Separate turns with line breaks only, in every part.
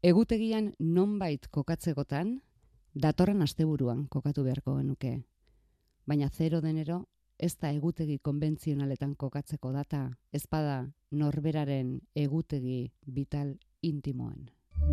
Egutegian nonbait kokatzegotan, datorren asteburuan kokatu beharko genuke. Baina 0 de enero ez da egutegi konbentzionaletan kokatzeko data, ezpada norberaren egutegi vital intimoan.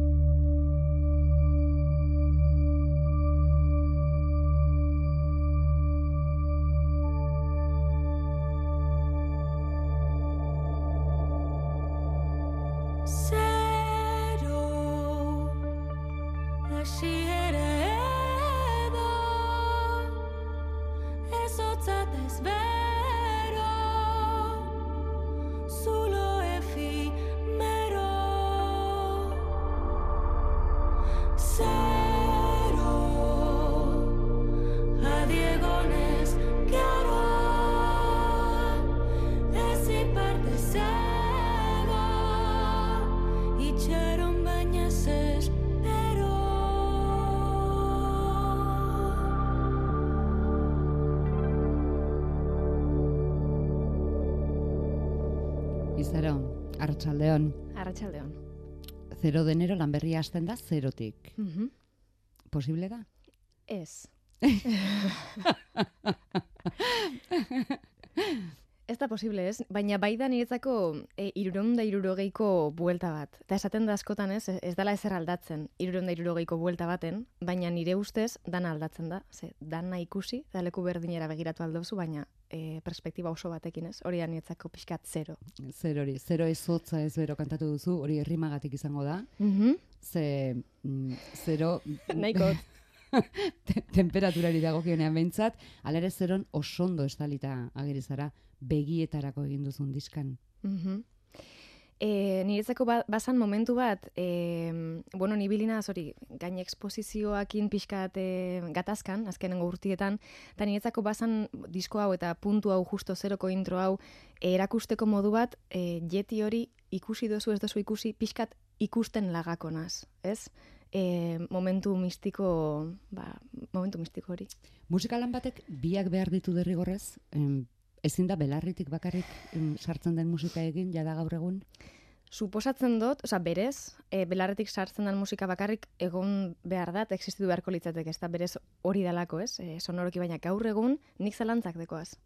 Izaro, arratsaldeon.
Arratsaldeon.
0 de enero lan berria hasten da 0tik. Posible da?
Ez. Ez da posible, ez? Baina bai da niretzako 360ko buelta bat. Eta esaten da askotan, ez dela ezer aldatzen 360ko buelta baten, baina nire ustez dana aldatzen da. Dana ikusi, da leku berdinera begiratu aldozu, baina perspektiba oso batekin, ez? Hori da niretzako pixkat 0.
0 hori, 0 ez hotza ez bero kantatu duzu, hori errimagatik izango da. Ze 0...
Nahiko.
Temperaturari dagokionean behintzat, ala ere 0 osondo estalita agerizara begietarako egin duzun diskan.
Niretzako bazan momentu bat, ni bilinaz hori gain eksposizioakin pixkat gatazkan, azkenengo urtietan, eta niretzako bazan disko hau eta puntu hau justo 0ko intro hau erakusteko modu bat, jeti hori ikusi dozu ez dozu ikusi, pixkat ikusten lagakonaz, ez? Momentu mistiko hori.
Musikalan batek biak behar ditu derrigorrez, ezin da belarritik bakarrik sartzen den musika egin, jada gaur egun?
Suposatzen dut, berez, belarretik sartzen den musika bakarrik egon behar da, existitu beharko litzateke, ez da berez hori dalako, ez? Sonoroki baina gaur egun nik zalantzak dekoaz.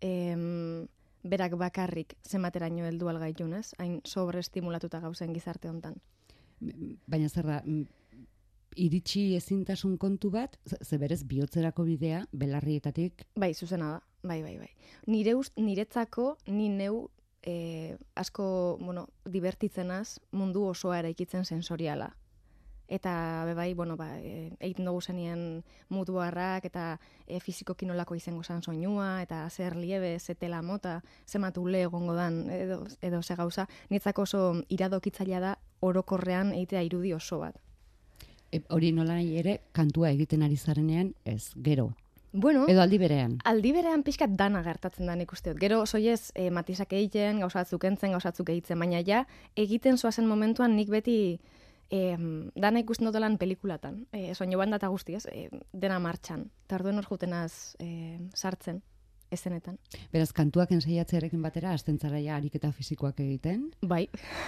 Berak bakarrik zenbateraino heldu algaitun, ez? Hain sobreestimulatuta gauzen gizarte hontan.
Baina zer da, iritsi ezintasun kontu bat, ze berez bihotzerako bidea belarrietatik?
Bai, zuzena da. Bai. Niretzako, ni neu asko, divertitzenaz mundu osoa eraikitzen sensoriala. Eta egiten dugu zenien mutuarrak eta fizikoki nolako izango zan soinua, eta zer liebe, ze tela mota, ze matule egongo dan, edo ze gauza. Niretzako oso iradokitzailea da orokorrean egitea irudi oso bat.
Hori nola nahi ere, kantua egiten ari zarenean, ez, gero.
Bueno,
edo aldi berean.
Aldi berean pixkat dana gertatzen da nik usteot. Gero soiez matizak egiten, gauzatzuk entzen, gauzatzuk egitzen, baina ja egiten zoazen momentuan nik beti dana ikusten dutelan pelikulatan. Soinu banda eta guzti, ez? Dena martxan. Eta orduen hor jutenaz sartzen, ezenetan.
Beraz, kantuak ensaiatzearekin batera, hasten zara ja ariketa fisikoak egiten?
Bai.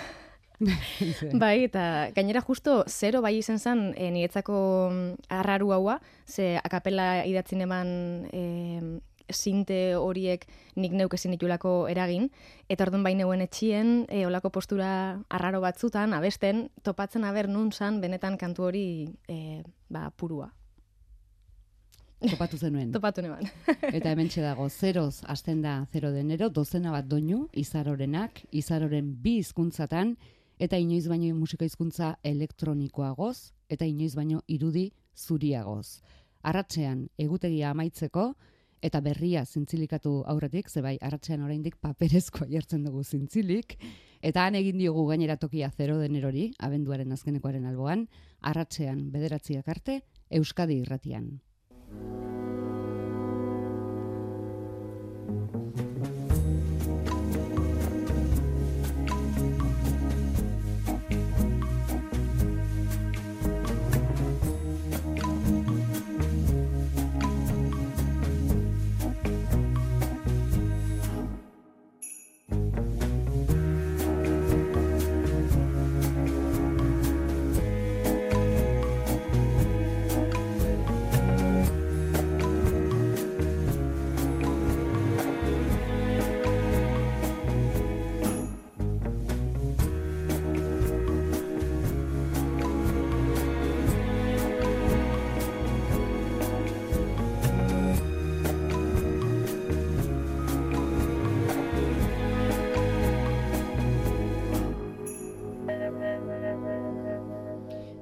Bai, eta gainera justo 0 bai izen zen niretzako arraru haua, ze akapela idatzin eman sinte horiek nik neuk ezin ditulako eragin, eta orduan bai neuen etxien, olako postura arraro batzutan, abesten, topatzen aber nun zan benetan kantu hori purua.
Topatu zenuen.
Topatu neban.
Eta hementxe dago, 0 hasten da 0 de enero, 12 bat doinu, Izarorenak, Izaroren 2 hizkuntzatan, eta inoiz baino musika hizkuntza elektronikoagoz, eta inoiz baino irudi zuriagoz. Arratsean egutegia amaitzeko, eta berria zintzilikatu aurretik, ze bai, arratsean oraindik paperezkoa jartzen dugu zintzilik, eta han egin diogu gainera tokia 0 de enerori, abenduaren azkenekoaren alboan, arratsean 9 arte, Euskadi Irratian.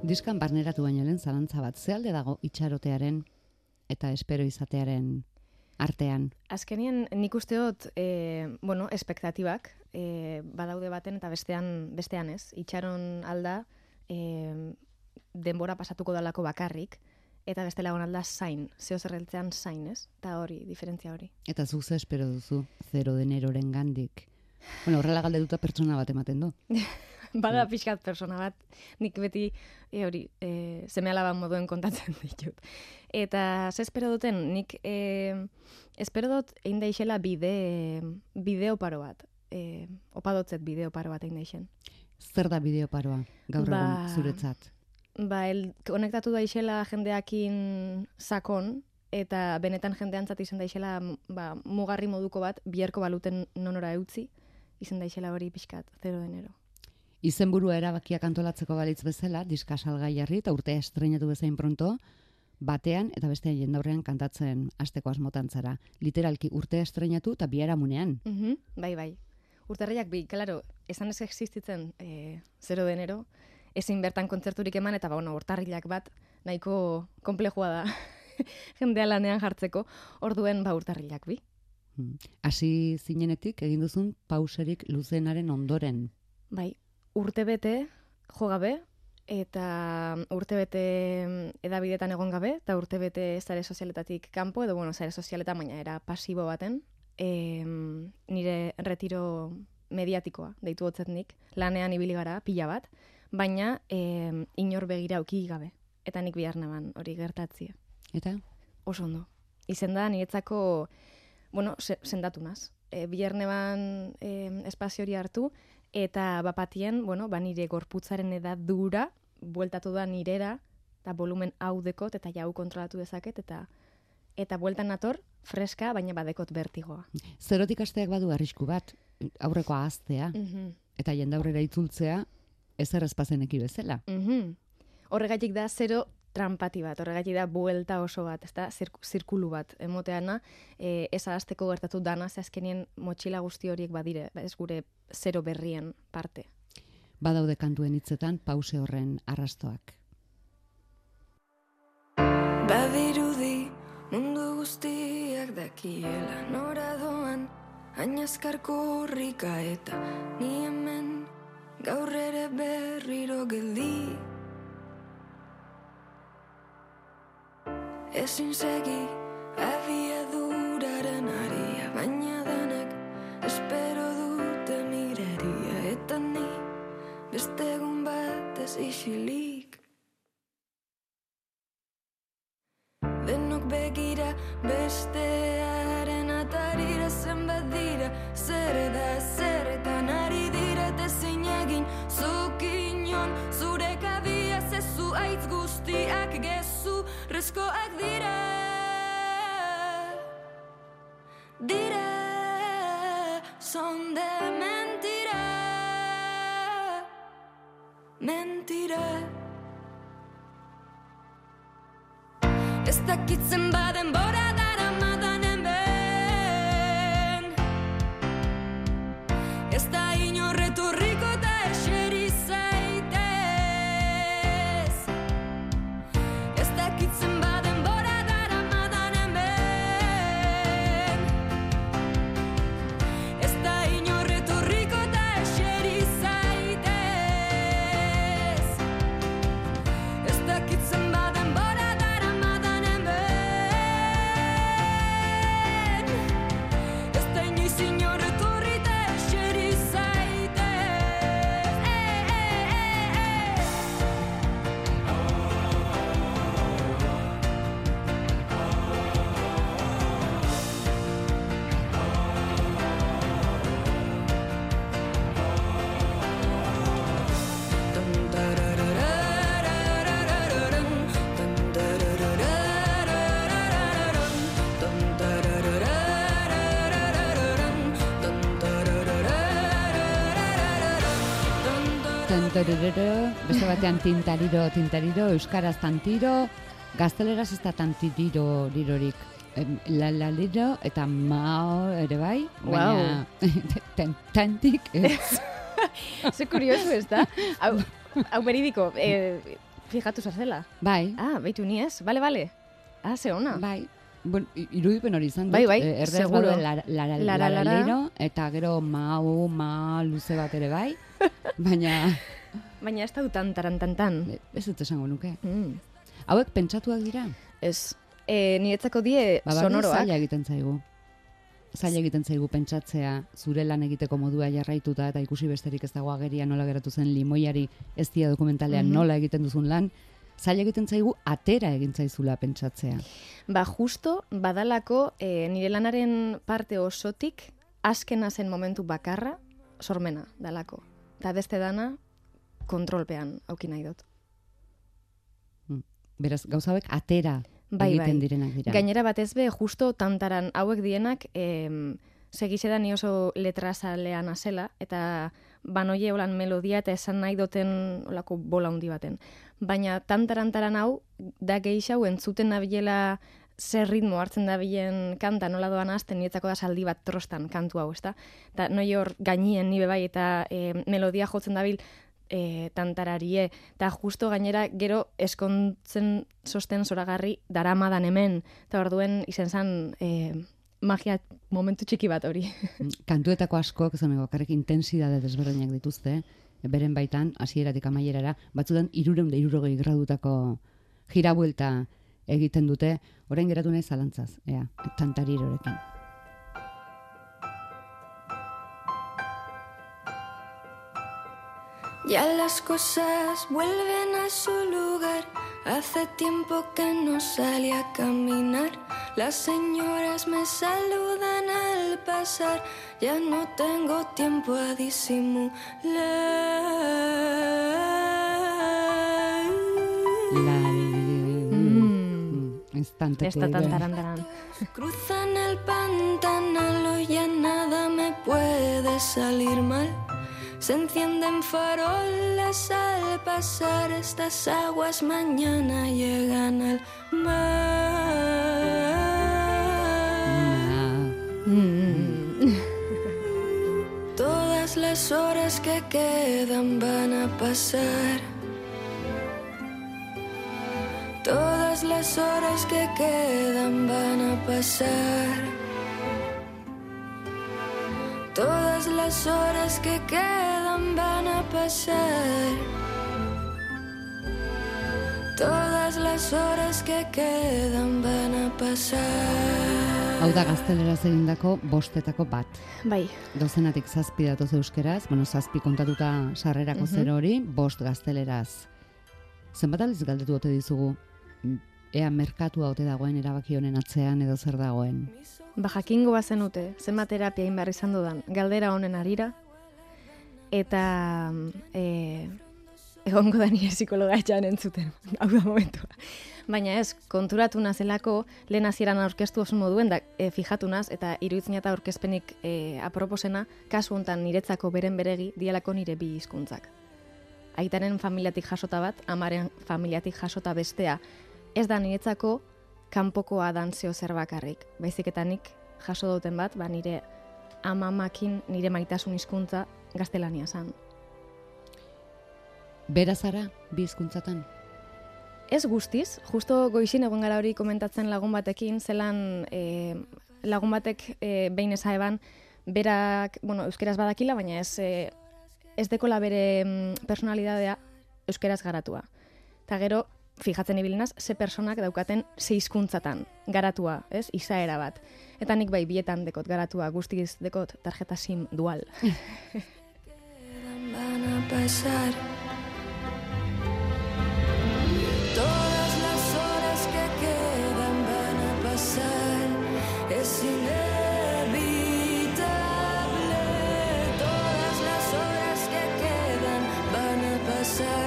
Diskan barneratu baino lehen zalantza bat, ze alde dago itxarotearen eta espero izatearen artean?
Azkenien nik uste dut, espektatibak badaude baten eta bestean ez. Itxaron alda denbora pasatuko dalako bakarrik, eta beste lagun alda zain, zeo zerreltzean zain, ez? Eta hori, diferentzia hori.
Eta zuk ze espero duzu 0 de neroren gandik? Bueno, horrela galdetuta pertsona bat ematen du.
Bada pixkat persona bat, nik beti seme-alaba moduen kontatzen ditut. Eta ze espero duten, nik espero dut egin daixela bideo paro bat. Opadotzet bideo paro bat egin daixen.
Zer da bideo paroa, gaur egun zuretzat?
Konektatu daixela jendeakin sakon, eta benetan jendeantzat izan daixela mugarri moduko bat, biherko baluten nonora eutzi, izan daixela hori pixkat, 0 de enero.
Izenburua erabakiak antolatzeko balitz bezala, diska salgai jarri eta urtea estrenatu bezain pronto, batean eta bestean jendaurrean kantatzen hasteko asmotan zara. Literalki urtea estrenatu eta biharamunean.
Bai. Urtarriak bi, claro, esan ez existitzen 0 de enero, ezin bertan kontzerturik eman, eta urtarrilak bat nahiko konplejua da jendea lanean jartzeko, orduen urtarrilak bi.
Hasi zinenetik egin duzun pauserik luzenaren ondoren.
Bai, urtebete jo gabe, eta urtebete edabidetan egon gabe, eta urtebete sare sozialetatik kanpo, edo sare sozialetan baina era pasibo baten, nire retiro mediatikoa, deitu hotzet nik, lanean ibili gara, pila bat, baina inor begira auki gabe. Eta nik bihar neban hori gertatzia.
Eta?
Oso ondo. Izen da, niretzako, sendatu naz. Bihar neban espazio hori hartu, eta bapatien, nire gorputzaren edadura, bueltatu da nirera, eta volumen hau dekot, eta jau kontrolatu dezaket, eta bueltan nator, freska, baina badekot bertigoa.
Zerotik asteak badu arrisku bat, aurreko ahaztea, eta jendaurrera itzultzea, ezer ezpazeneki bezala.
Horregatik da 0 trampati bat, horregatik da buelta oso bat, ez da, zirkulu bat, emoteana, ez ahazteko gertatu dana, ze azkenien motxila guzti horiek badire, ez gure 0 berrien parte.
Badaude kantuen hitzetan pause horren arrastoak.
Badirudi mundu guztiak dakiela nora doan, hainazkarko horrika eta ni hemen gaur ere berriro geldi. Ezin segi abiaduraren aria, baina denek espero dute mireria, eta ni beste egun batez isilik. Denok begira bestearen atarira, zenbat dira, zer da zerretan ari dira, eta zein egin zuk inon, zure kabia zezu aitz guztiak gezu rezkoak dira. Son de mentira, mentira. Ez dakitzen baden bora dara madanen ben, ez da inorreturriko eta eseri zaitez. Ez dakitzen baden bora dara madanen ben, ez da inorreturriko eta eseri zaitez. Ez dakitzen baden bora
beste batean tintariro, euskaraz tantiro, gazteleraz ez da tantiriro lirorik. Laliro eta mao ere bai, baina tantik ez.
Ze kurioso ez da? Hau beridiko, Fijatu zazela.
Bai,
Ah, beitu ni ez, bale. Ah, ze ona.
bai. Bueno, irudipen hori izan dut.
Bai,
Erderaz
seguro.
baduen
Lara.
laralero, eta gero ma luze bat ere bai. Baina,
Baina ez da dutan tarantantan.
ez dut esango nuke.
Mm.
Hauek pentsatuak dira?
Ez, niretzako die
Ba,
sonoroak.
zaila egiten zaigu. Zaila egiten zaigu pentsatzea zure lan egiteko modua jarraituta eta ikusi besterik ez dago ageria nola geratu zen limoiari ez dia dokumentalean nola egiten duzun lan. Zaila egiten zaigu atera egin zaizula pentsatzea.
Ba, justo badalako nire lanaren parte osotik azkena zen momentu bakarra sormena dalako. Eta beste dana kontrolpean auki nahi dut.
Beraz, gauza hauek atera
Bai,
egiten
bai.
direnak dira.
Gainera batez be, justo tantaran hauek dienak segizeda ni oso letrazalean azela, eta banoie holan melodia eta esan nahi duten olako bola handi baten. Baina tantaran hau, da gehixau entzuten nabilela zer ritmo hartzen dabilen kanta nola doan azten, niretzako da saldi bat trostan kantu hau, ezta? Eta noi hor gainien nibe bai, eta melodia jotzen dabil tantararie, eta justo gainera gero eskontzen sosten zoragarri daramadan hemen, eta orduen izen zan magia momentu txiki bat hori.
Kantuetako askok, esan bakarrik intensidade desberdinak dituzte, beren baitan, hasieratik amaierara, batzutan 360 gradutako jirabuelta egiten dute, orain geratu nahi zalantzaz, tantarirorekin.
Ya las cosas vuelven a su lugar. Hace tiempo que no salí a caminar. Las señoras me saludan al pasar. Ya no tengo tiempo a disimular.
Instante.
Esta tantaran.
Cruzan el pantanal y ya nada me puede salir mal. Se encienden farolas al pasar estas aguas, mañana llegan al mar. Todas las horas que quedan van a pasar. Todas las horas que quedan van a pasar. Todas las horas que quedan van a pasar. Todas las horas que quedan van a pasar.
Hau da gazteleraz egindako bostetako bat.
Bai,
Dozenatik 7 datoz euskeraz, 7 kontatuta sarrerako 0 hori, 5 gazteleraz. Zenbat aldiz galdetu ote dizugu, ea merkatua ote dagoen erabaki honen atzean edo zer dagoen.
ba jakingo bazenute, zenbat terapia egin behar izan dudan, galdera honen arira, eta egongo da nire psikologa etxan entzuten, hau da momentua. Baina ez, konturatu nazelako, lehen hasieran aurkeztu oso moduen, da fijatu naz, eta iruditzen eta aurkezpenik aproposena, kasu hontan niretzako beren beregi, dialako nire bi hizkuntzak. Aitaren familiatik jasota bat, amaren familiatik jasota bestea, ez da niretzako kanpokoa dan zeo zer bakarrik. Baizik eta nik jaso duten bat, ba nire amamakin nire maitasun hizkuntza gaztelania zan.
Bera zara, bi hizkuntzatan?
Ez guztiz, justo goizin egon gara hori komentatzen lagun batekin, zelan lagun batek behin eza eban, berak, euskeraz badakila, baina ez dekola bere personalidadea euskeraz garatua. Eta gero, fijatzen ibilinaz, ze personak daukaten ze hizkuntzatan garatua, ez? Izaera bat. Eta nik bai bietan dekot garatua, guztiz dekot tarjeta SIM dual.
Van a pasar. Todas las horas que quedan van a pasar. Es inevitable. Todas las horas que quedan van a pasar.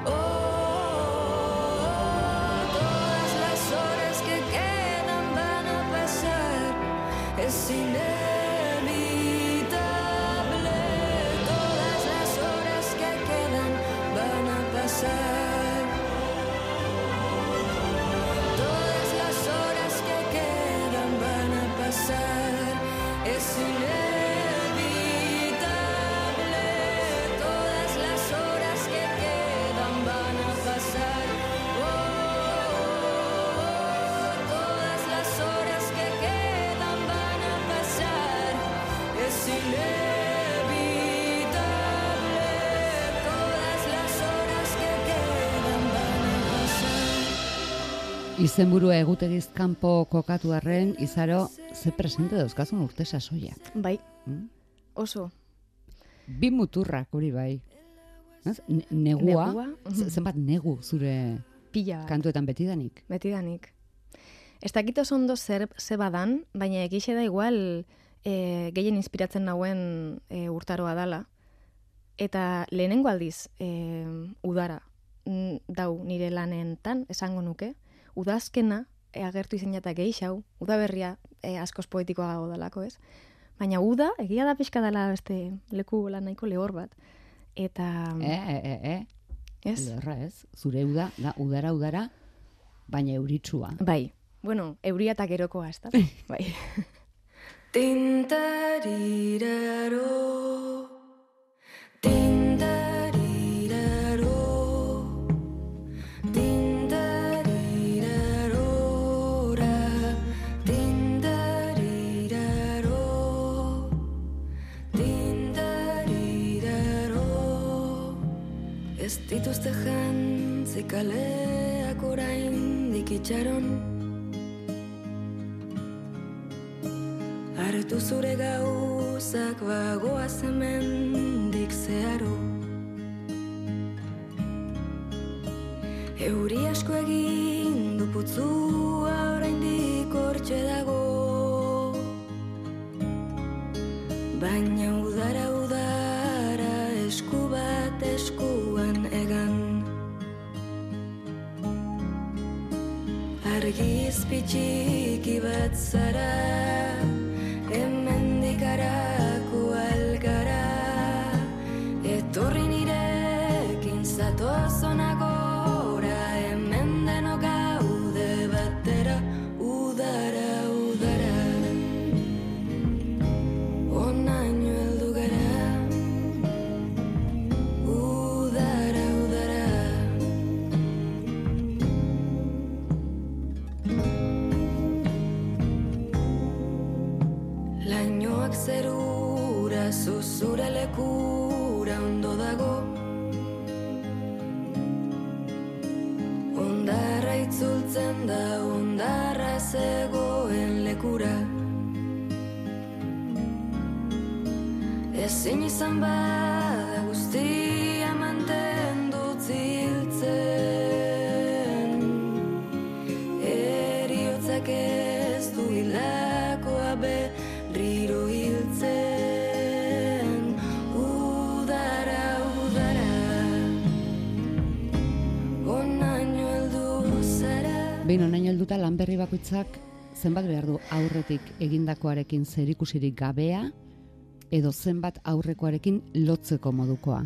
Todas las horas que quedan van a pasar. Es inevitable. Todas las horas que quedan
Izenburua egutegiz kanpo kokatu arren, Izaro, ze presente dauzkazun urte sasoiak.
Bai, oso.
Bi muturrak hori bai. Negua, zenbat negu zure
pila bat.
Kantuetan betidanik.
Betidanik. Ez dakit oso ondo ze badan, baina egixe da igual gehien inspiratzen nauen urtaroa dala. Eta lehenengo aldiz udara dau nire lanentan, esango nuke. Udazkena agertu izan jata gehixau, udaberria askoz poetikoa gago dalako, ez? Baina uda, egia da pixka dela beste leku lan nahiko lehor bat. Eta...
Ez? Lehorra ez. Zure uda, da udara, baina euritsua.
Bai. Bueno, euria eta gerokoa, ez da? Bai.
Tintariraro, tintariraro, tintarirarora, tintariraro, tintariraro. Ez dituzte jantzi kaleak oraindik itxaron, hartu zure gauzak bagoaz hemendik zeharo. Euri asko egin du putzua oraindik hortxe dago, baina udara esku bat eskuan egan. Argizpi txiki bat zara, hemendik harako algara, etorri nirekin zatoz hona gora, hemen denok gaude batera, udara, onaino heldu gara, udara. Lainoak zerura, zuzure lekura ondo dago, ondarra itzultzen da, ondarra zegoen lekura. Ezin izan bada guztia mantendu ziltzen, eriotzak ez du hilakoa berriro hiltzen, udara, onaino heldu zara.
Behin onaino helduta lan berri bakoitzak zenbat behar du aurretik egindakoarekin zerikusirik gabea, edo zenbat aurrekoarekin lotzeko modukoa?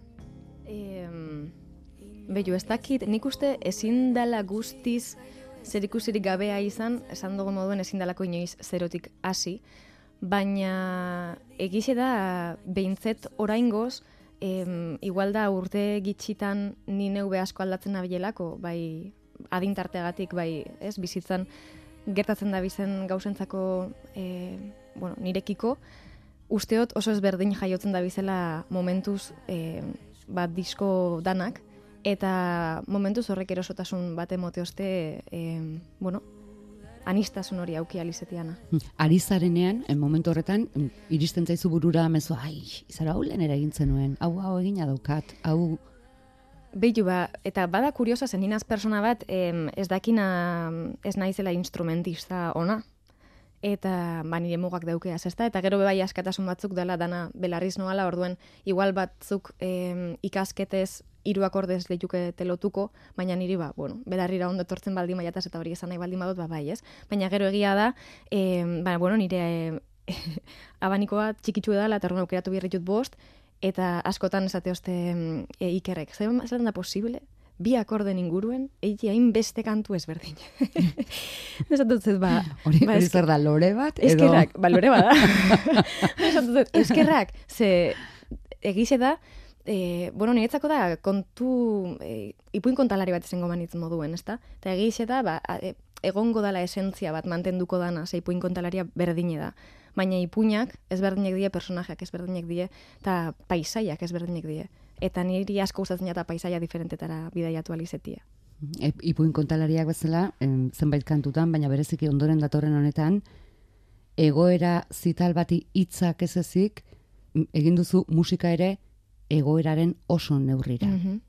Bello, ez dakit, nik uste ezin dela guztiz zerikusirik gabea izan, esan dugu moduen ezin dalako inoiz zerotik hasi, baina egize da behintzet oraingoz, igual da urte gitxitan ni neu asko aldatzen nabilelako, bai adintarteagatik, bai ez, bizitzan gertatzen da bizen gauzentzako nirekiko, usteot oso ezberdin jaiotzen da bizela momentuz bat disko danak, eta momentuz horrek erosotasun bat emoteozte, anistasun hori auki alizetiana.
Ari zarenean, momentu horretan, iristen zaizu burura mezu, Izaro hau lehen egin zenuen, hau egina daukat, hau...
Beitu eta bada kuriosa zen ninaz persona bat, ez dakina ez naizela instrumentista ona, eta nire mugak daukeaz, ezta? Eta gero bai askatasun batzuk dela dana belarriz noala, orduen igual batzuk ikasketez 3 akordez lehituke telotuko, baina niri belarrira ondo etortzen baldin maiataz eta hori esan nahi baldin badut, bai ez. Baina gero egia da, nire abanikoa txikitsu edala, eta horren aukeratu birritut 5, eta askotan esateozte ikerrek. Zer da posible? 2 akorden inguruen, egi hainbeste kantu ezberdin. Esatzen
hori zer da, lore bat?
Eskerrak, lore bat da. Esatzen eskerrak, ze egize da, niretzako da kontu, ipuin kontalari bat izango manitz moduen, ezta? Eta egize da, egongo dala esentzia bat mantenduko dana, ze ipuin kontalaria berdine da. Baina ipuinak ezberdinek die, personajeak ezberdinek die, eta paisaiak ezberdinek die. Eta niri asko gustatzen eta paisaia diferentetara bidaiatu alizetia.
Ipuin kontalariak bezala, zenbait kantutan, baina bereziki ondoren datorren honetan, egoera zital bati hitzak ez ezik, egin duzu musika ere egoeraren oso neurrira.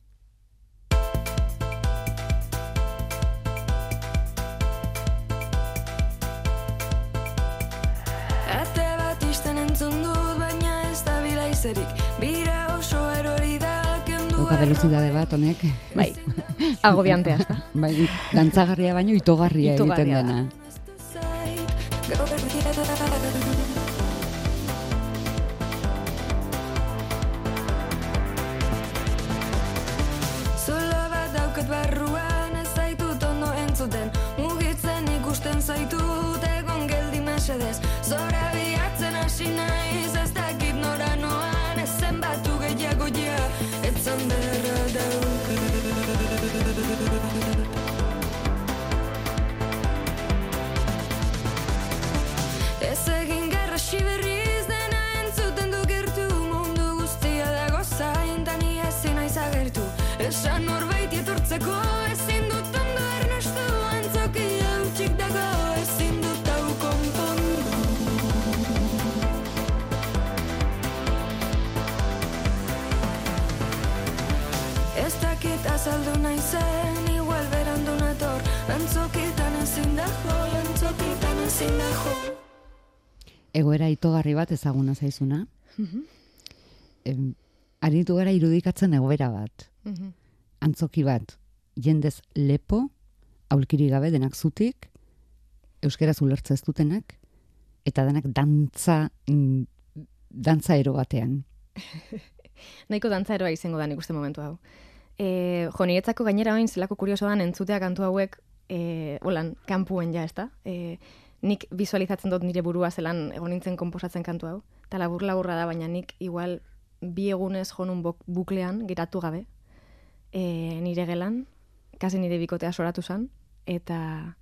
Ate bat isten entzun dut, baina ez da bilaizerik, bira oso erori da.
Dauka velocidade bat, honek.
Bai, agobiantea, ez da.
Bai, dantzagarria baino itogarria egiten dena.
Zola bat daukat barruan, ez zaitut ondo entzuten, mugitzen ikusten zaitut, egon geldi mesedez, zora bilatzen hasi naiz, ez dakit nora noan, ezen batu gehiago ja, etzan beharra daukat. Ez egin garrasi berriz dena entzuten du gertu, mundu guztia dago zain, tani ezin naiz agertu, esan norbait etortzeko ezin dut ondo ernestu, antzokia hutsik dago ezin dut hau konpondu. Ez dakit azaldu naizen, igual berandu nator, antzokitan ezin da jo, antzokitan ezin da jo.
Egoera itogarri bat ezaguna zaizuna. Aritu gara irudikatzen egoera bat. Antzoki bat, jendez lepo, aulkiri gabe denak zutik, euskaraz ulertze ez dutenak, eta denak dantza ero batean.
Nahiko dantzaeroa izango da nik uste momentu hau. Niretzako gainera oin zelako kurioso dan entzutea kantu hauek holan, kanpuen ja, ezta? Nik visualizatzen dut nire burua zelan egon nintzen konposatzen kantu hau. Eta labur-laburra da, baina nik igual bi egunez jonun buklean geratu gabe. Nire gelan, kasi nire bikotea soratu zan, eta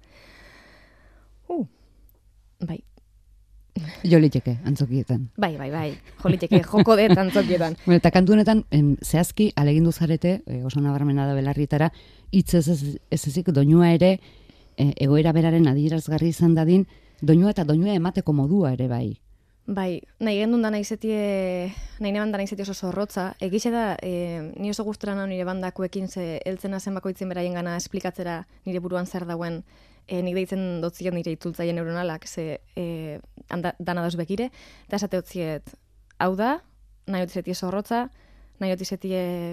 bai.
Joliteke, antzokietan.
Bai, joliteke, joko dut antzokietan.
Bueno, eta kantu honetan, zehazki, alegindu zarete, oso nabarmena da belarrietara, hitz ez ezik doinua ere, egoera beraren adierazgarri izan dadin, doinua eta doinua emateko modua ere bai.
Bai, nahi gendun da nahi neban da nahi zeti oso zorrotza. Egixe da, ni oso gustura nau nire bandakuekin ze eltzena zen bakoitzen beraien gana esplikatzera nire buruan zer dauen, nik deitzen dotziet nire itzultzaile neuronalak, ze dana dauz bekire, eta esate dotziet, hau da, nahi otizeti zorrotza, nahi otizeti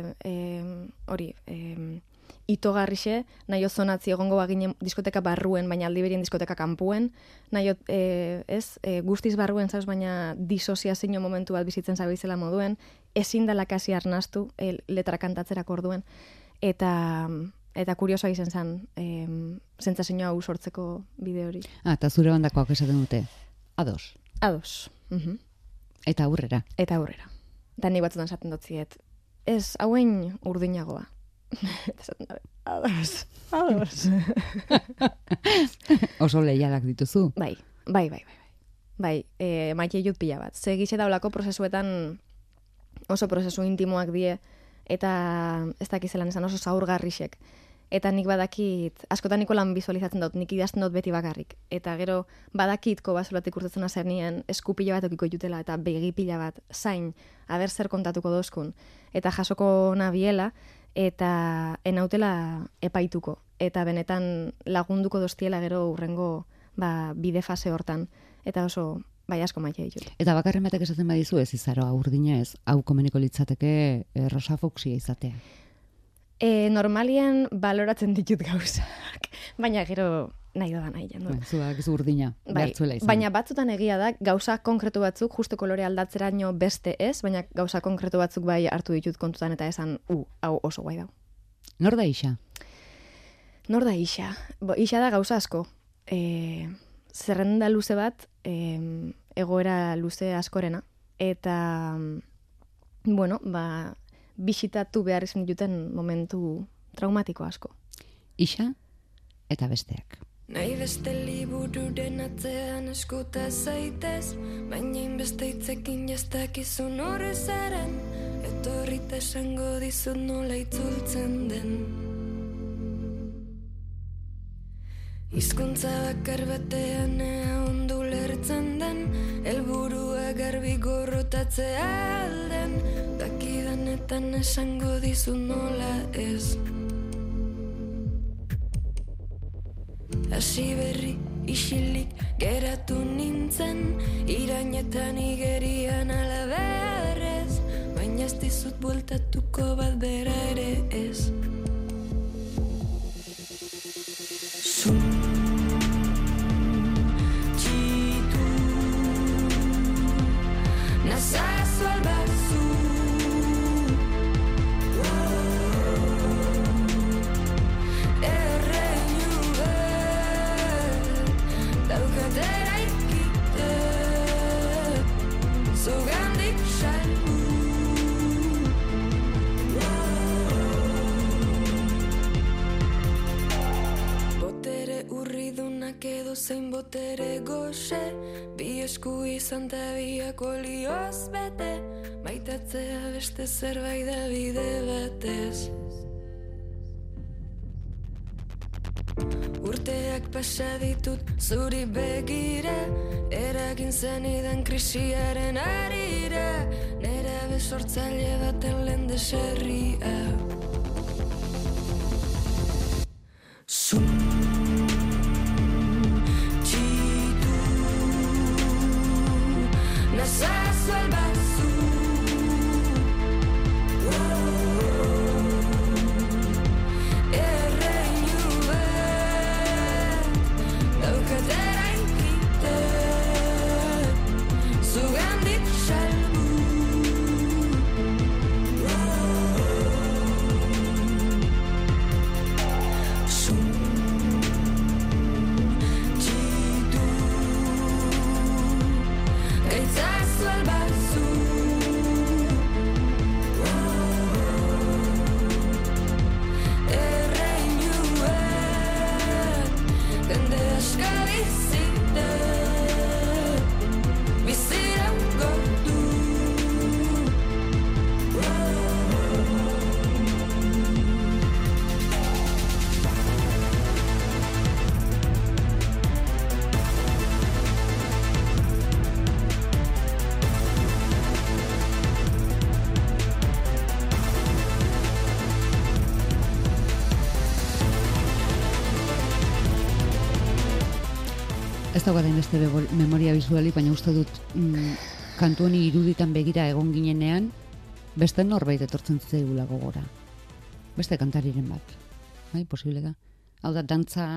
itogarrixe, nahi zonatzi egongo baginen diskoteka barruen, baina aldi berien diskoteka kanpuen, nahi guztiz barruen zauz, baina disoziazio momentu bat bizitzen zabizela moduen, ezin dela kasi arnastu letra kantatzerak orduen, eta kuriosoa izan zen sentsazioa hau sortzeko bide hori.
Eta zure bandakoak esaten dute, ados.
Ados.
Eta aurrera.
Eta aurrera. Da nik batzutan esaten dotziet, ez hauen urdinagoa. Ados.
Oso leialak dituzu.
Bai. Maite jut pila bat. Segixe daulako prozesuetan oso prozesu intimoak die, eta ez dakizelan esan oso zaurgarrixek. Eta nik badakit, askotan niko lan visualizatzen dut, nik idazten dut beti bakarrik. Eta gero badakitko basolatik urtetzen azer nien, eskupila bat okiko jutela, eta begipila bat, zain, aber zer kontatuko dozkun. Eta jasoko nabiela, eta enautela epaituko. Eta benetan lagunduko doztiela gero urrengo bide fase hortan. Eta oso, bai asko maite ditut.
Eta bakarren batek esaten badizu ez izaroa urdina ez, hau komeniko litzateke rosa fuksia izatea.
Normalien baloratzen ditut gauzak, baina gero nahi da nahi jandu.
Zuak ez urdina, behartzuela izan.
Baina batzutan egia da, gauza konkretu batzuk, justo kolore aldatzeraino beste ez, baina gauza konkretu batzuk bai hartu ditut kontutan eta esan, hau oso guai dau.
Nor da Ixa?
Nor da Ixa? Ixa da gauza asko. Zerrenda luze bat, egoera luze askorena, eta, bueno, bisitatu behar izan dituten momentu traumatiko asko.
Ixa eta besteak.
Nahi beste libururen atzean eskuta zaitez, baina inbeste hitzekin jastakizun horrezaren, etorrita esango dizut nola itzultzen den. Hizkuntza bakar batean ea ondo lertzen den, helburua garbi gorrotatzea alden, dakidanetan esango dizu nola ez. Hasi berri isilik geratu nintzen, irainetan igerian alaberrez, baina ez dizut bueltatuko bat bera ere ez. Txitu nazazu albazu, erreinu bet daukatera ikite, zugandik salgu. Urridunak edo zein botere goxe, bi esku izan ta biak olioz bete, maitatzea beste zerbait da bide batez. Urteak pasa ditut zuri begira, eragin zenidan krisiaren arira, nera besortzaile baten lehen deserria. Nazazu albazu, erreinu bet daukatera ikite, zugandik salgu. Gaitzazu albazu, erreinuet, jende aska bizite, biziran gortu.
Ez daukaten beste memoria bizuali, baina uste dut kantu honi iruditan begira egon ginenean, beste norbait etortzen zaigula gogora. Beste kantariren bat. Bai, posible da. Hau da, dantza...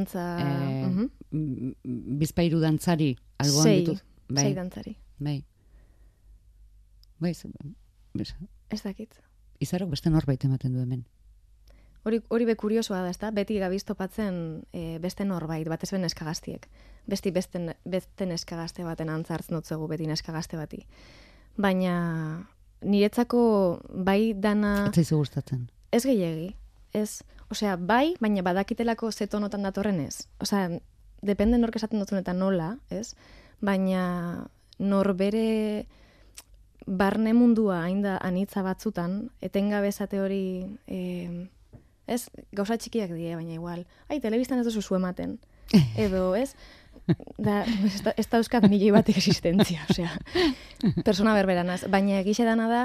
Bizpairu dantzari alboan ditu.
Sei dantzari.
Bai. Bai,
Ez dakit.
Izarok beste norbait ematen du hemen.
Hori be kuriosoa da, ezta? Beti gabiz topatzen beste norbait, batez ben eskagaztiek. Beste neskagazte baten antzartzen dutzegu beti neskagazte bati. Baina niretzako bai dana...
Ez zaizu gustatzen.
Ez gehiegi. Ez, osea, bai, baina badakitelako ze tonotan datorren ez. Osea, depende nork esaten dutzun eta nola, ez? Baina norbere barne mundua hain da anitza batzutan, etengabe esate hori... Ez, gauza txikiak die, baina igual. Telebistan ez duzu ematen. Edo, ez? Ez da euskat milioi batek existentzia, osea. Persona berberanaz. Baina egixe dana da,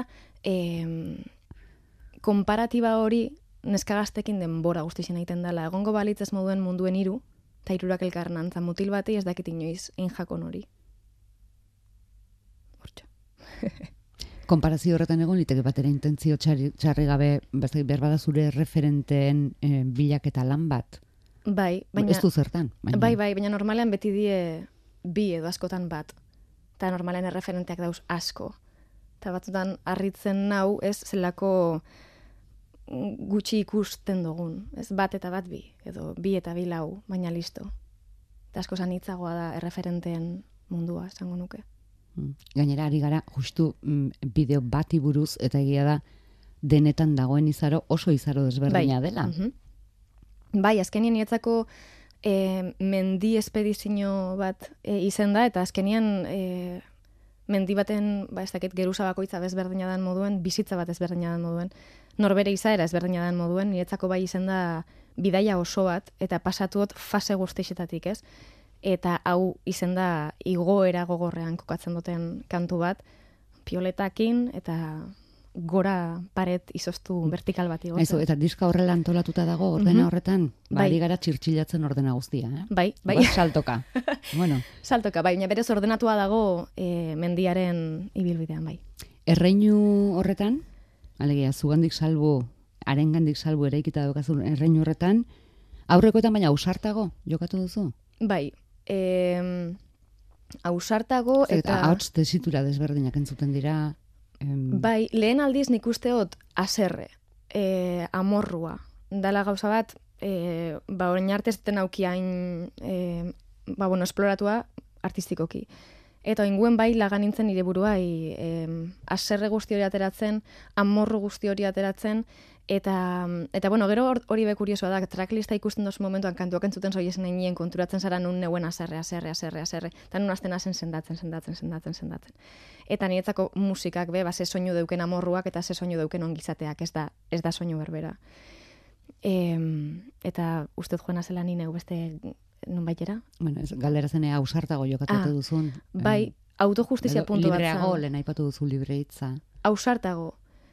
konparatiba hori neskagaztekin denbora guztizien egiten dela. Egongo balitz ez moduen munduen hiru, eta hirurak elkarren antza mutil batei ez dakit inoiz injakon hori. Hortxo.
Konparazio horretan egon liteke batera intentzio txarri gabe, behar bada zure referenteen bilaketa lan bat.
Bai, baina...
Ez du zertan.
Bai, baina normalean beti die bi edo askotan bat. Eta normalean erreferenteak dauz asko. Eta batzutan harritzen nau, ez zelako gutxi ikusten dugun. Ez bat eta bat bi, edo bi eta bi lau, baina listo. Eta asko zanitzagoa da erreferenteen mundua, esango nuke.
Gainera ari gara justu bideo bati buruz eta egia da denetan dagoen izaro oso izaro desberdina dela.
Bai, azkenien niretzako mendi espedizio bat izen da, eta azkenien mendi baten, ez dakit, geruza bakoitza ezberdina den moduen, bizitza bat ezberdina den moduen, norbere izaera ezberdina den moduen, niretzako bai izen da bidaia oso bat, eta pasatuot fase guztixetatik, ez? Eta hau izen da igoera gogorrean kokatzen duten kantu bat, pioletakin eta gora paret izoztu vertikal bat igotzen.
Eso, eta diska horrela antolatuta dago ordena horretan, badi gara txirtxilatzen ordena guztia, eh?
Bai.
Saltoka. Bueno.
Saltoka, bai, baina berez ordenatua dago mendiaren ibilbidean, bai.
Erreinu horretan, alegia, zugandik salbu, arengandik salbu eraikita daukazun erreinu horretan, aurrekoetan baina ausartago jokatu duzu?
Bai, ausartago eta
ahots tesitura desberdinak entzuten dira.
Bai, lehen aldiz nik usteot aserre, amorrua. Dala gauza bat, orain arte ez duten aukiain esploratua artistikoki. Eta inguen bai lagan nintzen nire buruai aserre guzti hori ateratzen, amorru guzti hori ateratzen, eta gero hori be kuriosoa da, tracklista ikusten dozu momentuan kantuak entzuten zoiezen nien konturatzen zara nun neuen aserre, eta nun azten azen sendatzen. Eta niretzako musikak ze soinu deuken amorruak eta ze soinu deuken ongizateak, ez da soinu berbera. Eta ustez joan azela nine beste nun baitera?
Bueno, galdera zenea ausartago jokatatu duzun.
Bai, autojustizia puntu bat.
Libreago, lehen aipatu duzu libreitza.
Ausartago.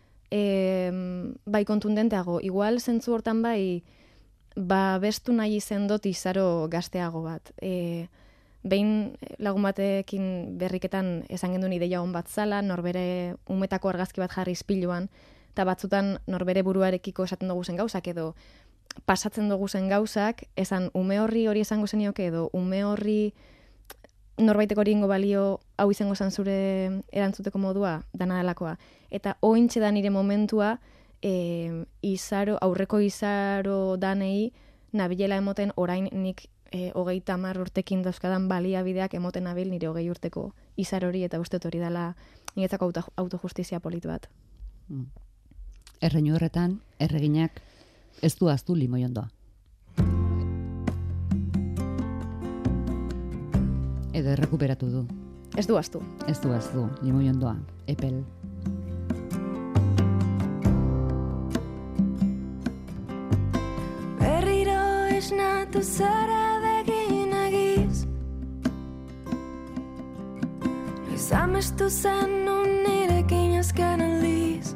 Bai, kontundenteago. Igual zentzu hortan bai, bestu nahi izen dut izaro gazteago bat. Behin lagun batekin berriketan esan genduen ideia hon bat zala, norbere umetako argazki bat jarri izpiluan, eta batzutan norbere buruarekiko esaten dugu zen gauzak edo pasatzen dugu zen gauzak, esan ume hori esango zenioke edo ume horri norbaiteko hori ingo balio hau izango zen zure erantzuteko modua, dana delakoa. Eta ointxe da nire momentua aurreko izaro danei nabilela emoten orain nik 30 urtekin dauzkadan baliabideak emoten nabil nire 20 urteko izar hori eta uste hori dela niretzako autojustizia politu bat.
Erreinu horretan, erreginak ez du aztu limoiondoa. Edo errekuperatu du.
Ez du aztu.
Ez du aztu, limoiondoa, epel.
Berriro esnatu zara begin egiz, noiz amestu zen nun nirekin azken aldiz.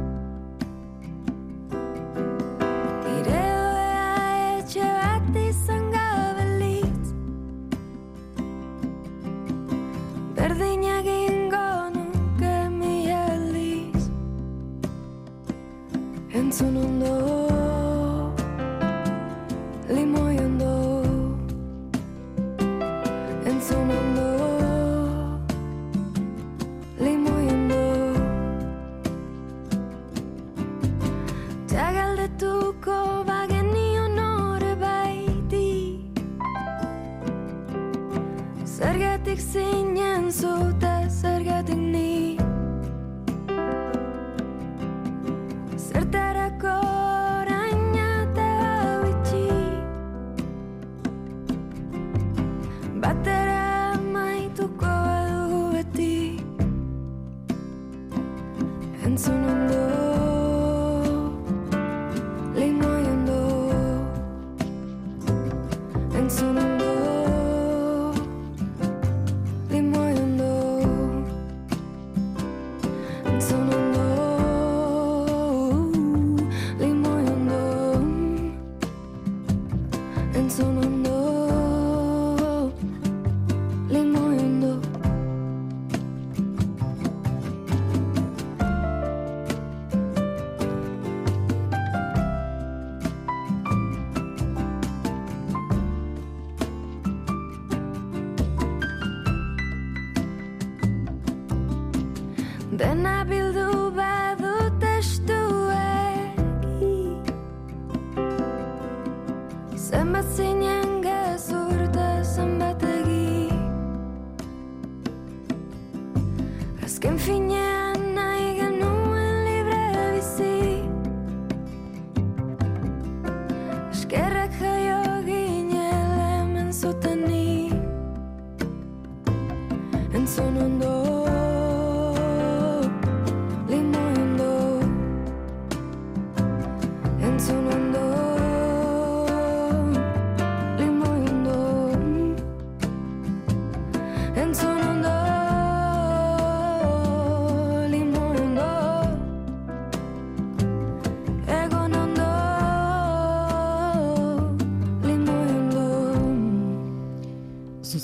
Nire doea etxe bat izan gabelitz, berdin egingo nuke mi aldiz. Entzun ondo, limoi ondo, entzun ondo, limoi ondo. Galdetuko bagenion nore baiti, zergatik zinen zute, zergatik ni. Zertarako orain ate hau itxi, batera maituko dugu beti. Entzun ondo, limoi ondo, entzun ondo, limoi ondo, entzun ondo, limoi ondo, entzun ondo, limoi ondo. Dena bildu badut estuegi, zenbat zinen gezurta zenbat egi. Azken finean nahi genuen libre bizi, eskerrak jaio ginele hemen zuteni. Entzun ondo, limoi ondo, entzun ondo,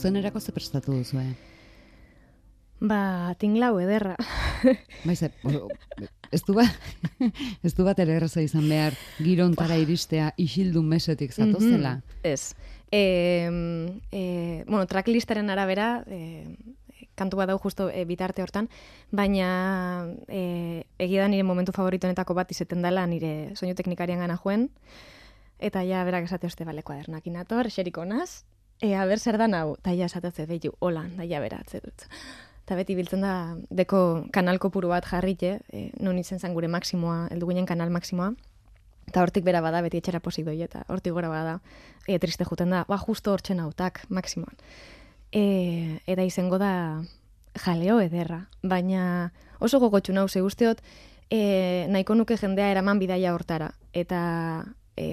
dozenerako ze prestatu duzu,
Ba, tinglau ederra.
Baiz, ez du bat ere erraza izan behar girontara iristea isildun mesetik zatozela.
Ez. Bueno, tracklistaren arabera, kantu bat dau justo bitarte hortan, baina egia da nire momentu favoritoenetako bat izeten dela nire soinu teknikarian gana joen, eta ja berak esate oste bale kuadernakin ator, xeriko naz, ber zer da nau, eta ja esatotze behiu, hola, da ja beratze dut. Eta beti biltzen da, deko kanal kopuru bat jarrite, non izen zen gure maksimoa, heldu ginen kanal maksimoa, eta hortik bera bada, beti etxera posik doi, eta hortik gora bada, triste juten da, justo hortzen hautak, maksimoan. Eta izango da jaleo ederra, baina oso gogotxu nau, ze usteot, nahiko nuke jendea eraman bidaia hortara, eta,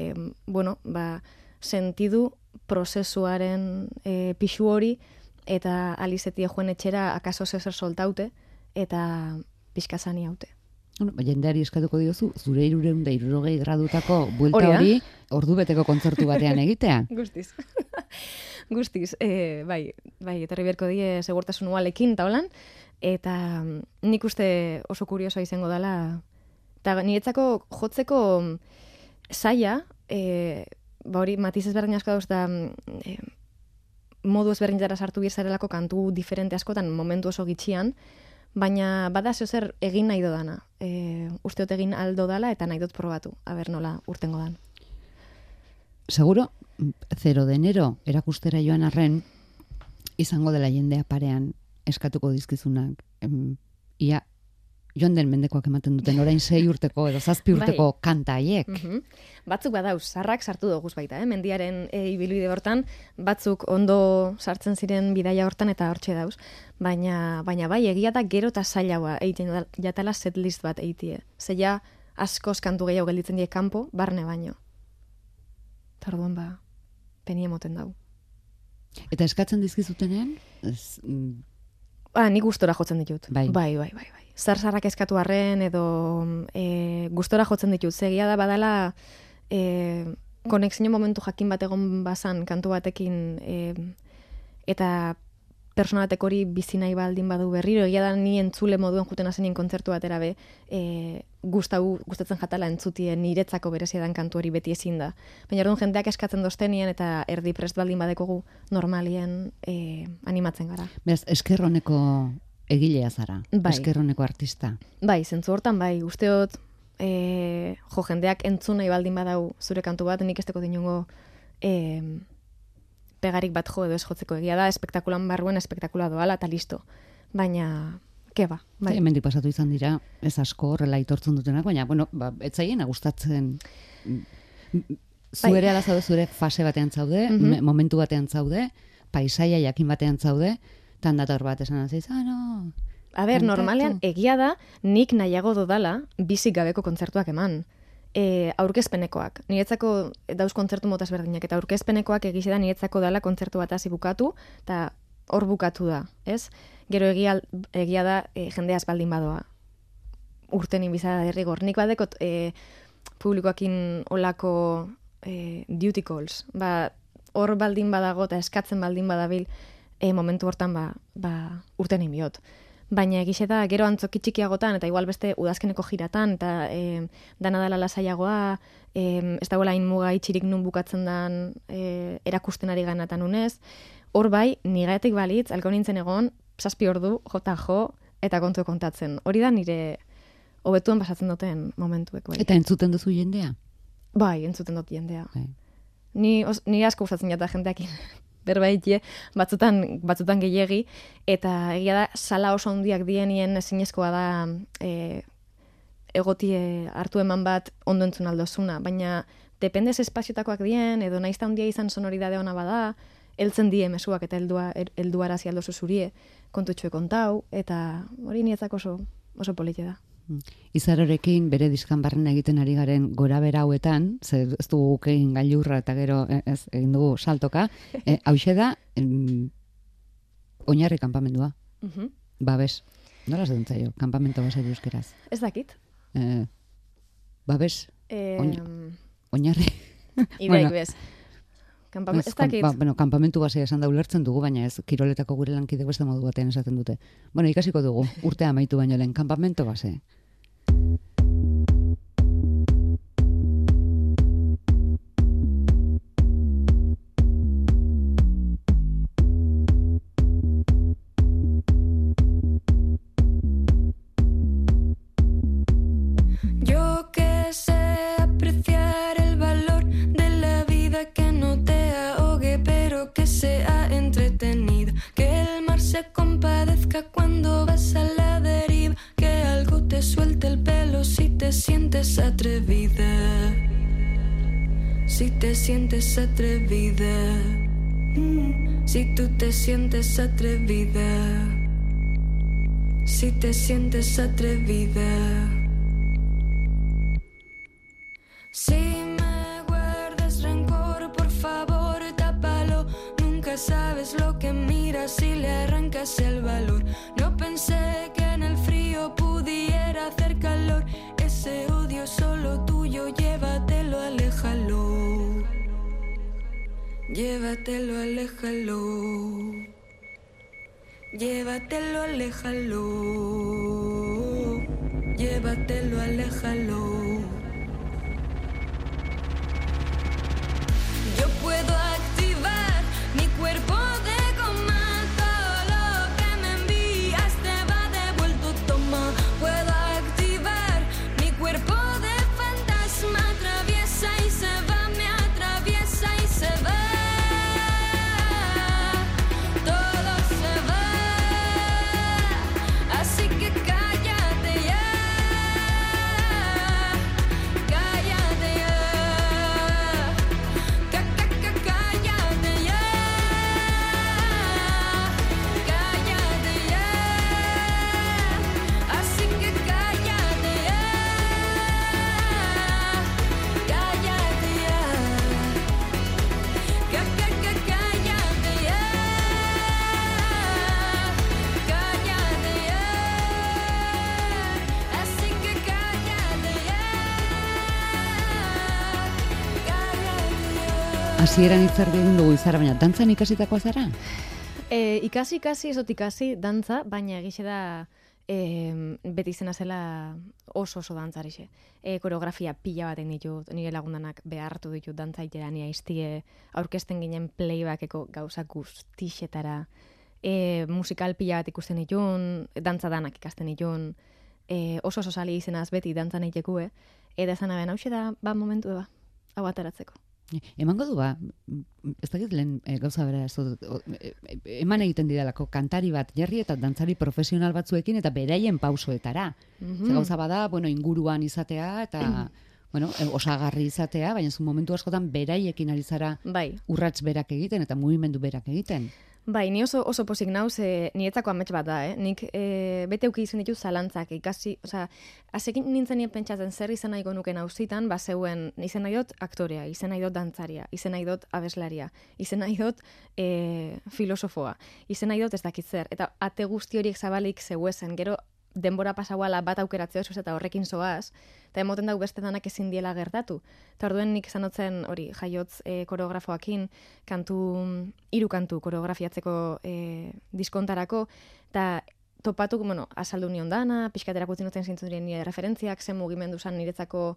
sentidu prozesuaren pixu hori, eta alizetie joen etxera akaso zezer soltaute, eta pixkazani haute.
Bueno, jendeari eskatuko diozu, zure 360 gradutako buelta hori ordubeteko kontzertu batean egitea.
Guztiz. Guztiz, bai, etorri berko die segurtasun ualekin eta holan, eta nik uste oso kuriosoa izango dela, eta niretzako jotzeko saia, hori matiz ezberdin asko dauz da, modu ezberdinetara sartu bizarelako kantu diferente askotan momentu oso gitxian, baina bada zer egin nahi dodana. Usteot egin aldo dala eta nahi dut probatu, aber nola urtengo dan.
Seguro, 0 de enero erakustera joan arren, izango dela jendea parean eskatuko dizkizunak. Ia, joan den mendekoak ematen duten orain 6 urteko edo 7 urteko kanta haiek.
Batzuk badauz, sarrak sartu doguz baita, mendiaren ibilbide hortan, batzuk ondo sartzen ziren bidaia hortan eta hortxe dauz. Baina bai, egia da gero eta zailagoa egiten jatala setlist bat egitie. Zeia askoz kantu gehiago gelditzen die kanpo, barne baino. Eta orduan peni emoten dau.
Eta eskatzen dizkizutenean?
Nik gustora jotzen ditut. Bai. Zarzarrak eskatu arren edo gustora jotzen ditut. Zegia da badala konexio momentu jakin bat egon bazan kantu batekin eta persona batek hori bizi nahi baldin badu berriro, egia da ni entzule moduen juten hazenien kontzertu batera be, gustatzen jatala entzutien niretzako berezia dan kantu hori beti ezin da. Baina orduan jendeak eskatzen doztenien eta erdi prest baldin badekogu normalien animatzen gara.
Beraz, eskerroneko egilea zara, eskerroneko artista.
Bai, zentzu hortan bai, usteot jendeak entzun nahi baldin badau zure kantu bat, nik esteko dinungo pegarik bat jo edo ez jotzeko, egia da, espektakulan barruen espektakula doala eta listo. Baina, keba. Bai.
Hemendik pasatu izan dira, ez asko horrela itortzen dutenak, baina, etzaiena gustatzen. Zuere ala zaude, zure fase batean zaude, momentu batean zaude, paisaia jakin batean zaude, tandator bat esan aziz, no.
Normalean, egia da, nik nahiago dodala bizik gabeko kontzertuak eman. Aurkezpenekoak. Niretzako dauz kontzertu motaz berdinak, eta aurkezpenekoak egize da niretzako dela kontzertu bat hasi bukatu, eta hor bukatu da, ez? Gero egia da jendeaz baldin badoa. Urten inbizada derrigor. Nik badekot publikoakin olako duty calls. Hor baldin badago eta eskatzen baldin badabil momentu hortan urten inbiot. Baina egize da, gero antzoki txikiagotan, eta igual beste udazkeneko jiratan, eta dana dela lasaiagoa, ez dagoela inmuga itxirik nun bukatzen dan erakusten ari ganatan unez. Hor bai, nigaetik balitz, alko nintzen egon, 7 ordu, jo, eta kontu kontatzen. Hori da nire hobetuen pasatzen duten momentuek. Bai.
Eta entzuten duzu jendea?
Bai, entzuten dut jendea. Bai. Ni asko gustatzen jata jendeakin. Berbaitie, batzutan gehiegi, eta egia da, sala oso handiak dienien ezinezkoa da egotie hartu eman bat ondo entzun aldozuna, baina dependez espaziotakoak dien, edo naizta handia izan sonoridade ona bada, heltzen die mezuak eta heldu arazi aldozu zurie, kontutxue kontau, eta hori nietzak oso polite da.
Izarorekin bere diskan barren egiten ari garen gora bera hauetan, ez dugu egin gailurra eta gero ez egin dugu saltoka, hauxe da oinarri kanpamendua. Babes. Nola zaten zaio, kanpamento basari euskeraz?
Ez dakit.
Babes. Oinarri.
Ideik bez.
Kanpamentu basea esan da ulertzen dugu, baina ez, kiroletako gure lankide beste modu batean esaten dute. Bueno, ikasiko dugu, urtea amaitu baino lehen, kanpamento base.
Cuando vas a la deriva, que algo te suelte el pelo si te sientes atrevida, si te sientes atrevida, si tú te sientes atrevida, si te sientes atrevida. Si me guardas rencor, por favor, tápalo. Nunca sabes lo que miras si le arrancas el valor. No pensé que en el frío pudiera hacer calor. Ese odio solo tuyo, llévatelo, aléjalo. Llévatelo, aléjalo. Llévatelo, aléjalo. Llévatelo, aléjalo. Yo puedo activar mi cuerpo de goma. Todo lo que me envías te va devuelto, toma. Puedo activar mi cuerpo de fantasma. Atraviesa y se va, me atraviesa y se va. Todo se va. Así que cállate ya. Cállate ya. Cállate ya. Cállate ya. Así que cállate ya. Cállate ya. Cállate ya. Cállate ya. Así que cállate ya. Cállate ya.
Hasieran hitz erdi egin dugu Izara, baina dantzan ikasitakoa zara?
Ikasi, ez dut ikasi dantza, baina egixe da beti izena zela oso dantzarixe. Koreografia pila bat egin ditut, nire lagundanak behartu ditut dantza itera, ni aiztie aurkezten ginen playbackeko gauza guztixetara, musikal pila bat ikusten ditun, dantza danak ikasten ditun, oso sali izenaz beti dantzan eitekue, eta esan aben, hauxe da, momentu eba, hau ataratzeko.
Emango du ez dakit lehen gauza bera, eman egiten didalako kantari bat jarri eta dantzari profesional batzuekin eta beraien pausoetara. Ze gauza bada, inguruan izatea eta osagarri izatea, baina zu momentu askotan beraiekin ari zara urrats berak egiten eta mugimendu berak egiten.
Bai, ni oso pozik nauz, niretzako amets bat da, Nik bete uki izan ditu zalantzak, ikasi, azekin nintzen nien pentsatzen zer izan nahi nuke nauzitan, zeuen, izan nahi dut aktorea, izan nahi dut dantzaria, izan nahi dut abeslaria, izan nahi dut filosofoa, izan nahi dut ez dakit zer, eta ate guzti horiek zabalik zeuezen, gero denbora pasauala bat aukeratzea oso eta horrekin zoaz, eta emoten dau beste danak ezin diela gertatu. Eta orduen nik zanotzen hori jaiotz koreografoakin, hiru kantu koreografiatzeko diskontarako, eta topatu, azaldu nion dana, pixkaterako zinuten zintzurien nire referentziak, zen mugimendu zan niretzako,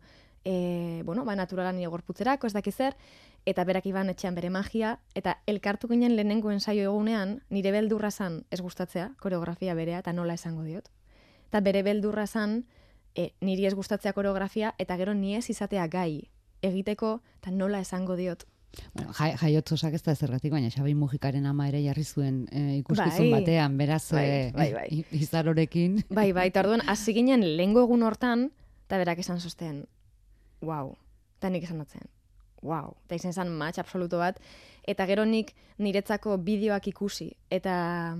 naturala nire gorputzerako, ez dakiz zer, eta berak iban etxean bere magia, eta elkartu ginen lehenengo ensaio egunean, nire beldurra zan ez gustatzea, koreografia berea, eta nola esango diot. Eta bere beldurra zan, niri ez gustatzea koreografia, eta gero ni ez izatea gai egiteko, eta nola esango diot.
Jaiotzozak ez da zergatik, baina Xabi Mujikaren ama ere jarri zuen ikuskizun batean, beraz Izarorekin.
Bai, eta orduan, hasi ginen lehengo egun hortan, eta berak esan zosten, wow, eta nik esan dutzen, wow, eta izan zen match absoluto bat, eta gero nik niretzako bideoak ikusi, eta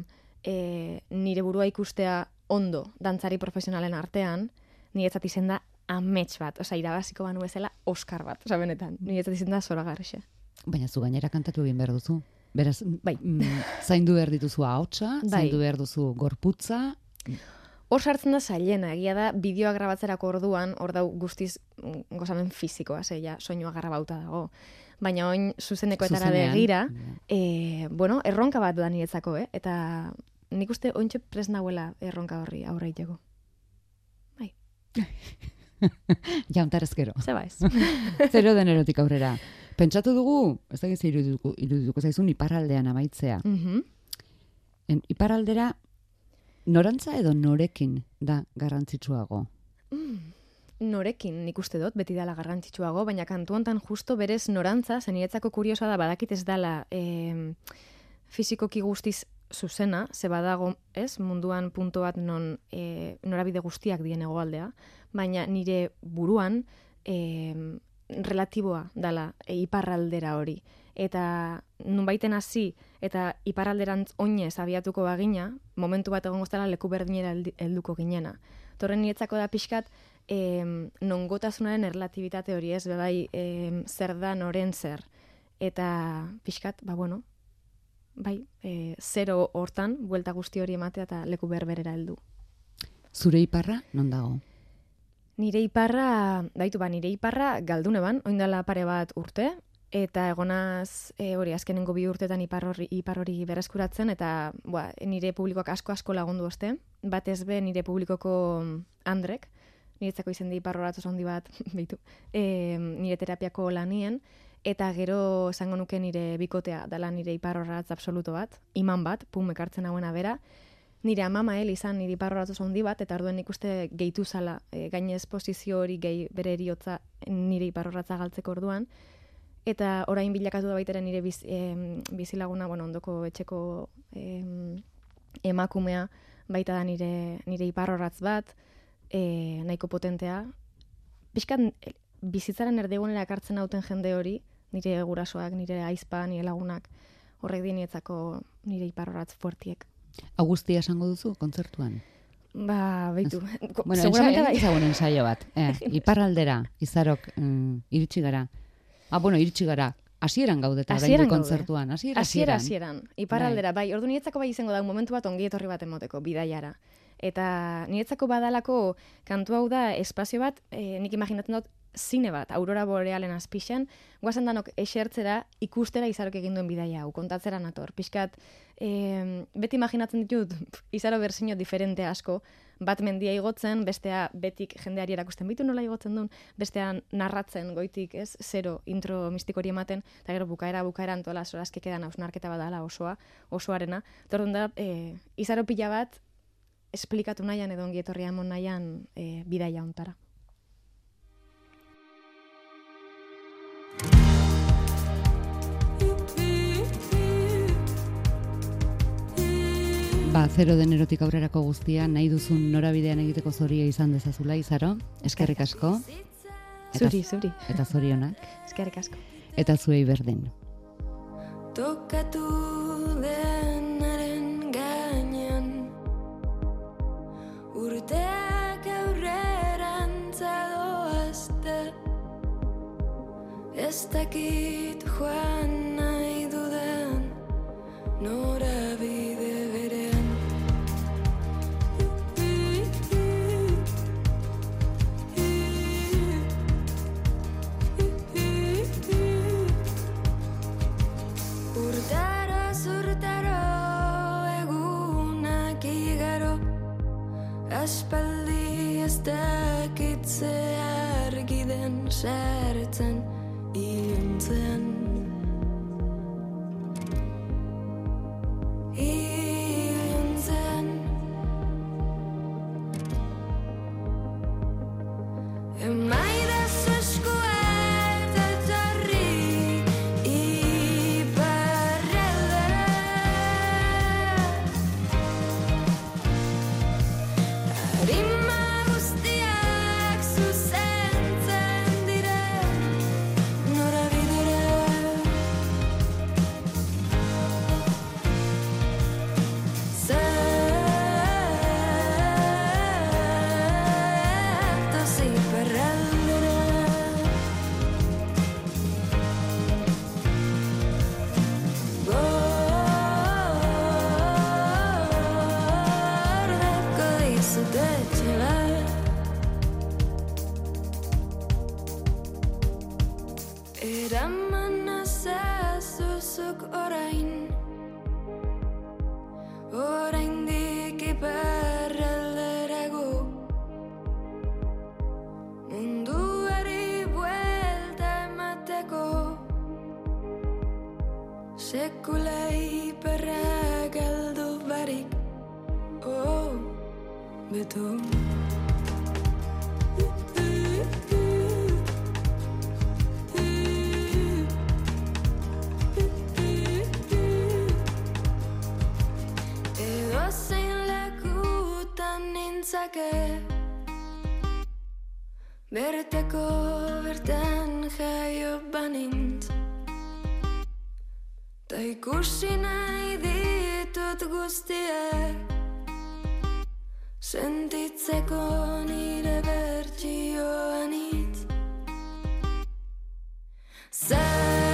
nire burua ikustea ondo dantzari profesionalen artean, niretzat izen da amets bat, irabaziko banu bezala Oscar bat, benetan, niretzat izen da zoragarrixe.
Baina zu gainera kantatu egin behar duzu. Beraz, zaindu behar dituzu ahotsa, zaindu behar duzu gorputza.
hor sartzen da zailena, egia da, bideoa grabatzerako orduan, hor dau guztiz gozamen fizikoa, ja, soinua grabauta dago. Baina oin zuzenekoetara begira, bueno, erronka bat da niretzako, eta nik uste ointxe prest nahuela erronka horri aurre iteko. Bai.
Jauntarezkero.
Zeba ez.
0 de Enerotik aurrera. Pentsatu dugu, ez da gizu irudituko zaizun iparraldean amaitzea. Iparraldera, norantza edo norekin da garrantzitsuago?
Norekin nik uste dut, beti dala garrantzitsuago, baina kantu hontan justo berez norantza, zeniretzako kuriosa da, badakit ez dala fizikoki guztiz zuzena, ze badago, ez, munduan punto bat non norabide guztiak dien hegoaldea, baina nire buruan relatiboa dala iparraldera hori. Eta nunbaiten hasi eta iparralderantz oinez abiatuko bagina, momentu bat egongo zela leku berdinera helduko ginena. Torren niretzako da pixkat, nongotasunaren erlatibitate hori ez, bebai zer da noren zer. Eta pixkat, bueno, bai, 0 hortan, buelta guzti hori ematea eta leku berberera heldu.
Zure iparra, non dago?
Nire iparra galdune ban, oindala pare bat urte, eta egonaz hori azkenengo 2 urtetan ipar hori berreskuratzen, eta nire publikoak asko lagundu oste, batez be nire publikoko Andrek, niretzako izendi ipar horatuz handi bat, behitu, nire terapiako lanien, eta gero esango nuke nire bikotea, dala nire ipar horatz absoluto bat, iman bat, pum ekartzen hauena bera, nire amama izan nire ipar horatuz handi bat, eta orduen ikuste gehitu zala, gainez posizio hori gehi bere eriotza nire ipar horatza galtzeko orduan, eta orain bilakatu da baitaren nire bizilaguna, ondoko etxeko emakumea, baita da nire iparrorratz bat, nahiko potentea. Piskat bizitzaren erdigunera ekartzen hauten jende hori, nire gurasoak, nire aizpa, nire lagunak, horrek dienietzako nire iparrorratz fuertiek.
Augustia esango duzu kontzertuan?
Beitu.
Bueno, ezagun ensaio bat. Iparraldera, Izarok, iritsi gara. Iritsi gara. Hasieran gaudeta orain kontzertuan.
Hasieran. Iparraldera, bai. Ordu niretzako bai izango da momentu bat ongi etorri bat emoteko bidaiara. Eta niretzako badalako kantu hau da espazio bat, nik imaginatzen dut zine bat, aurora borealen azpixan, guazen danok esertzera ikustera Izarok egin duen bidaia hau, kontatzera nator. Piskat, beti imaginatzen ditut Izaro berzino diferente asko, bat mendia igotzen, bestea betik jendeari erakusten bitu nola igotzen duen, bestea narratzen goitik, ez, 0 intro mistikori ematen, eta gero bukaera antola sorazkekedan hausnarketa badala osoarena. Tordun da, Izaro pila bat esplikatu nahian edo ongi etorria emon nahian bidaia ontara.
Ba, 0 de Enerotik aurrerako guztia, nahi duzun norabidean egiteko zoria izan dezazula, Izaro. Eskerrik asko.
Zuri.
Eta zorionak.
Eskerrik asko.
Eta zuei berdin.
Tokatu denaren gainean, urteak aurrerantza doazte, ez dakit joan nahi duden norabide berean. Aspaldi ez dakitze argi den sartzen iluntzean. Emaidas eskuet etorri iparraldera. Arima guztiak zuzentzen dire norabidera. Sekulei perra galdu barik. Oh, beto. Edo zein lekutan nintzake, berteko bertan jaio banintz. Ta ikusi nahi ditut guztiak, sentitzeko nire bertsioan hitz.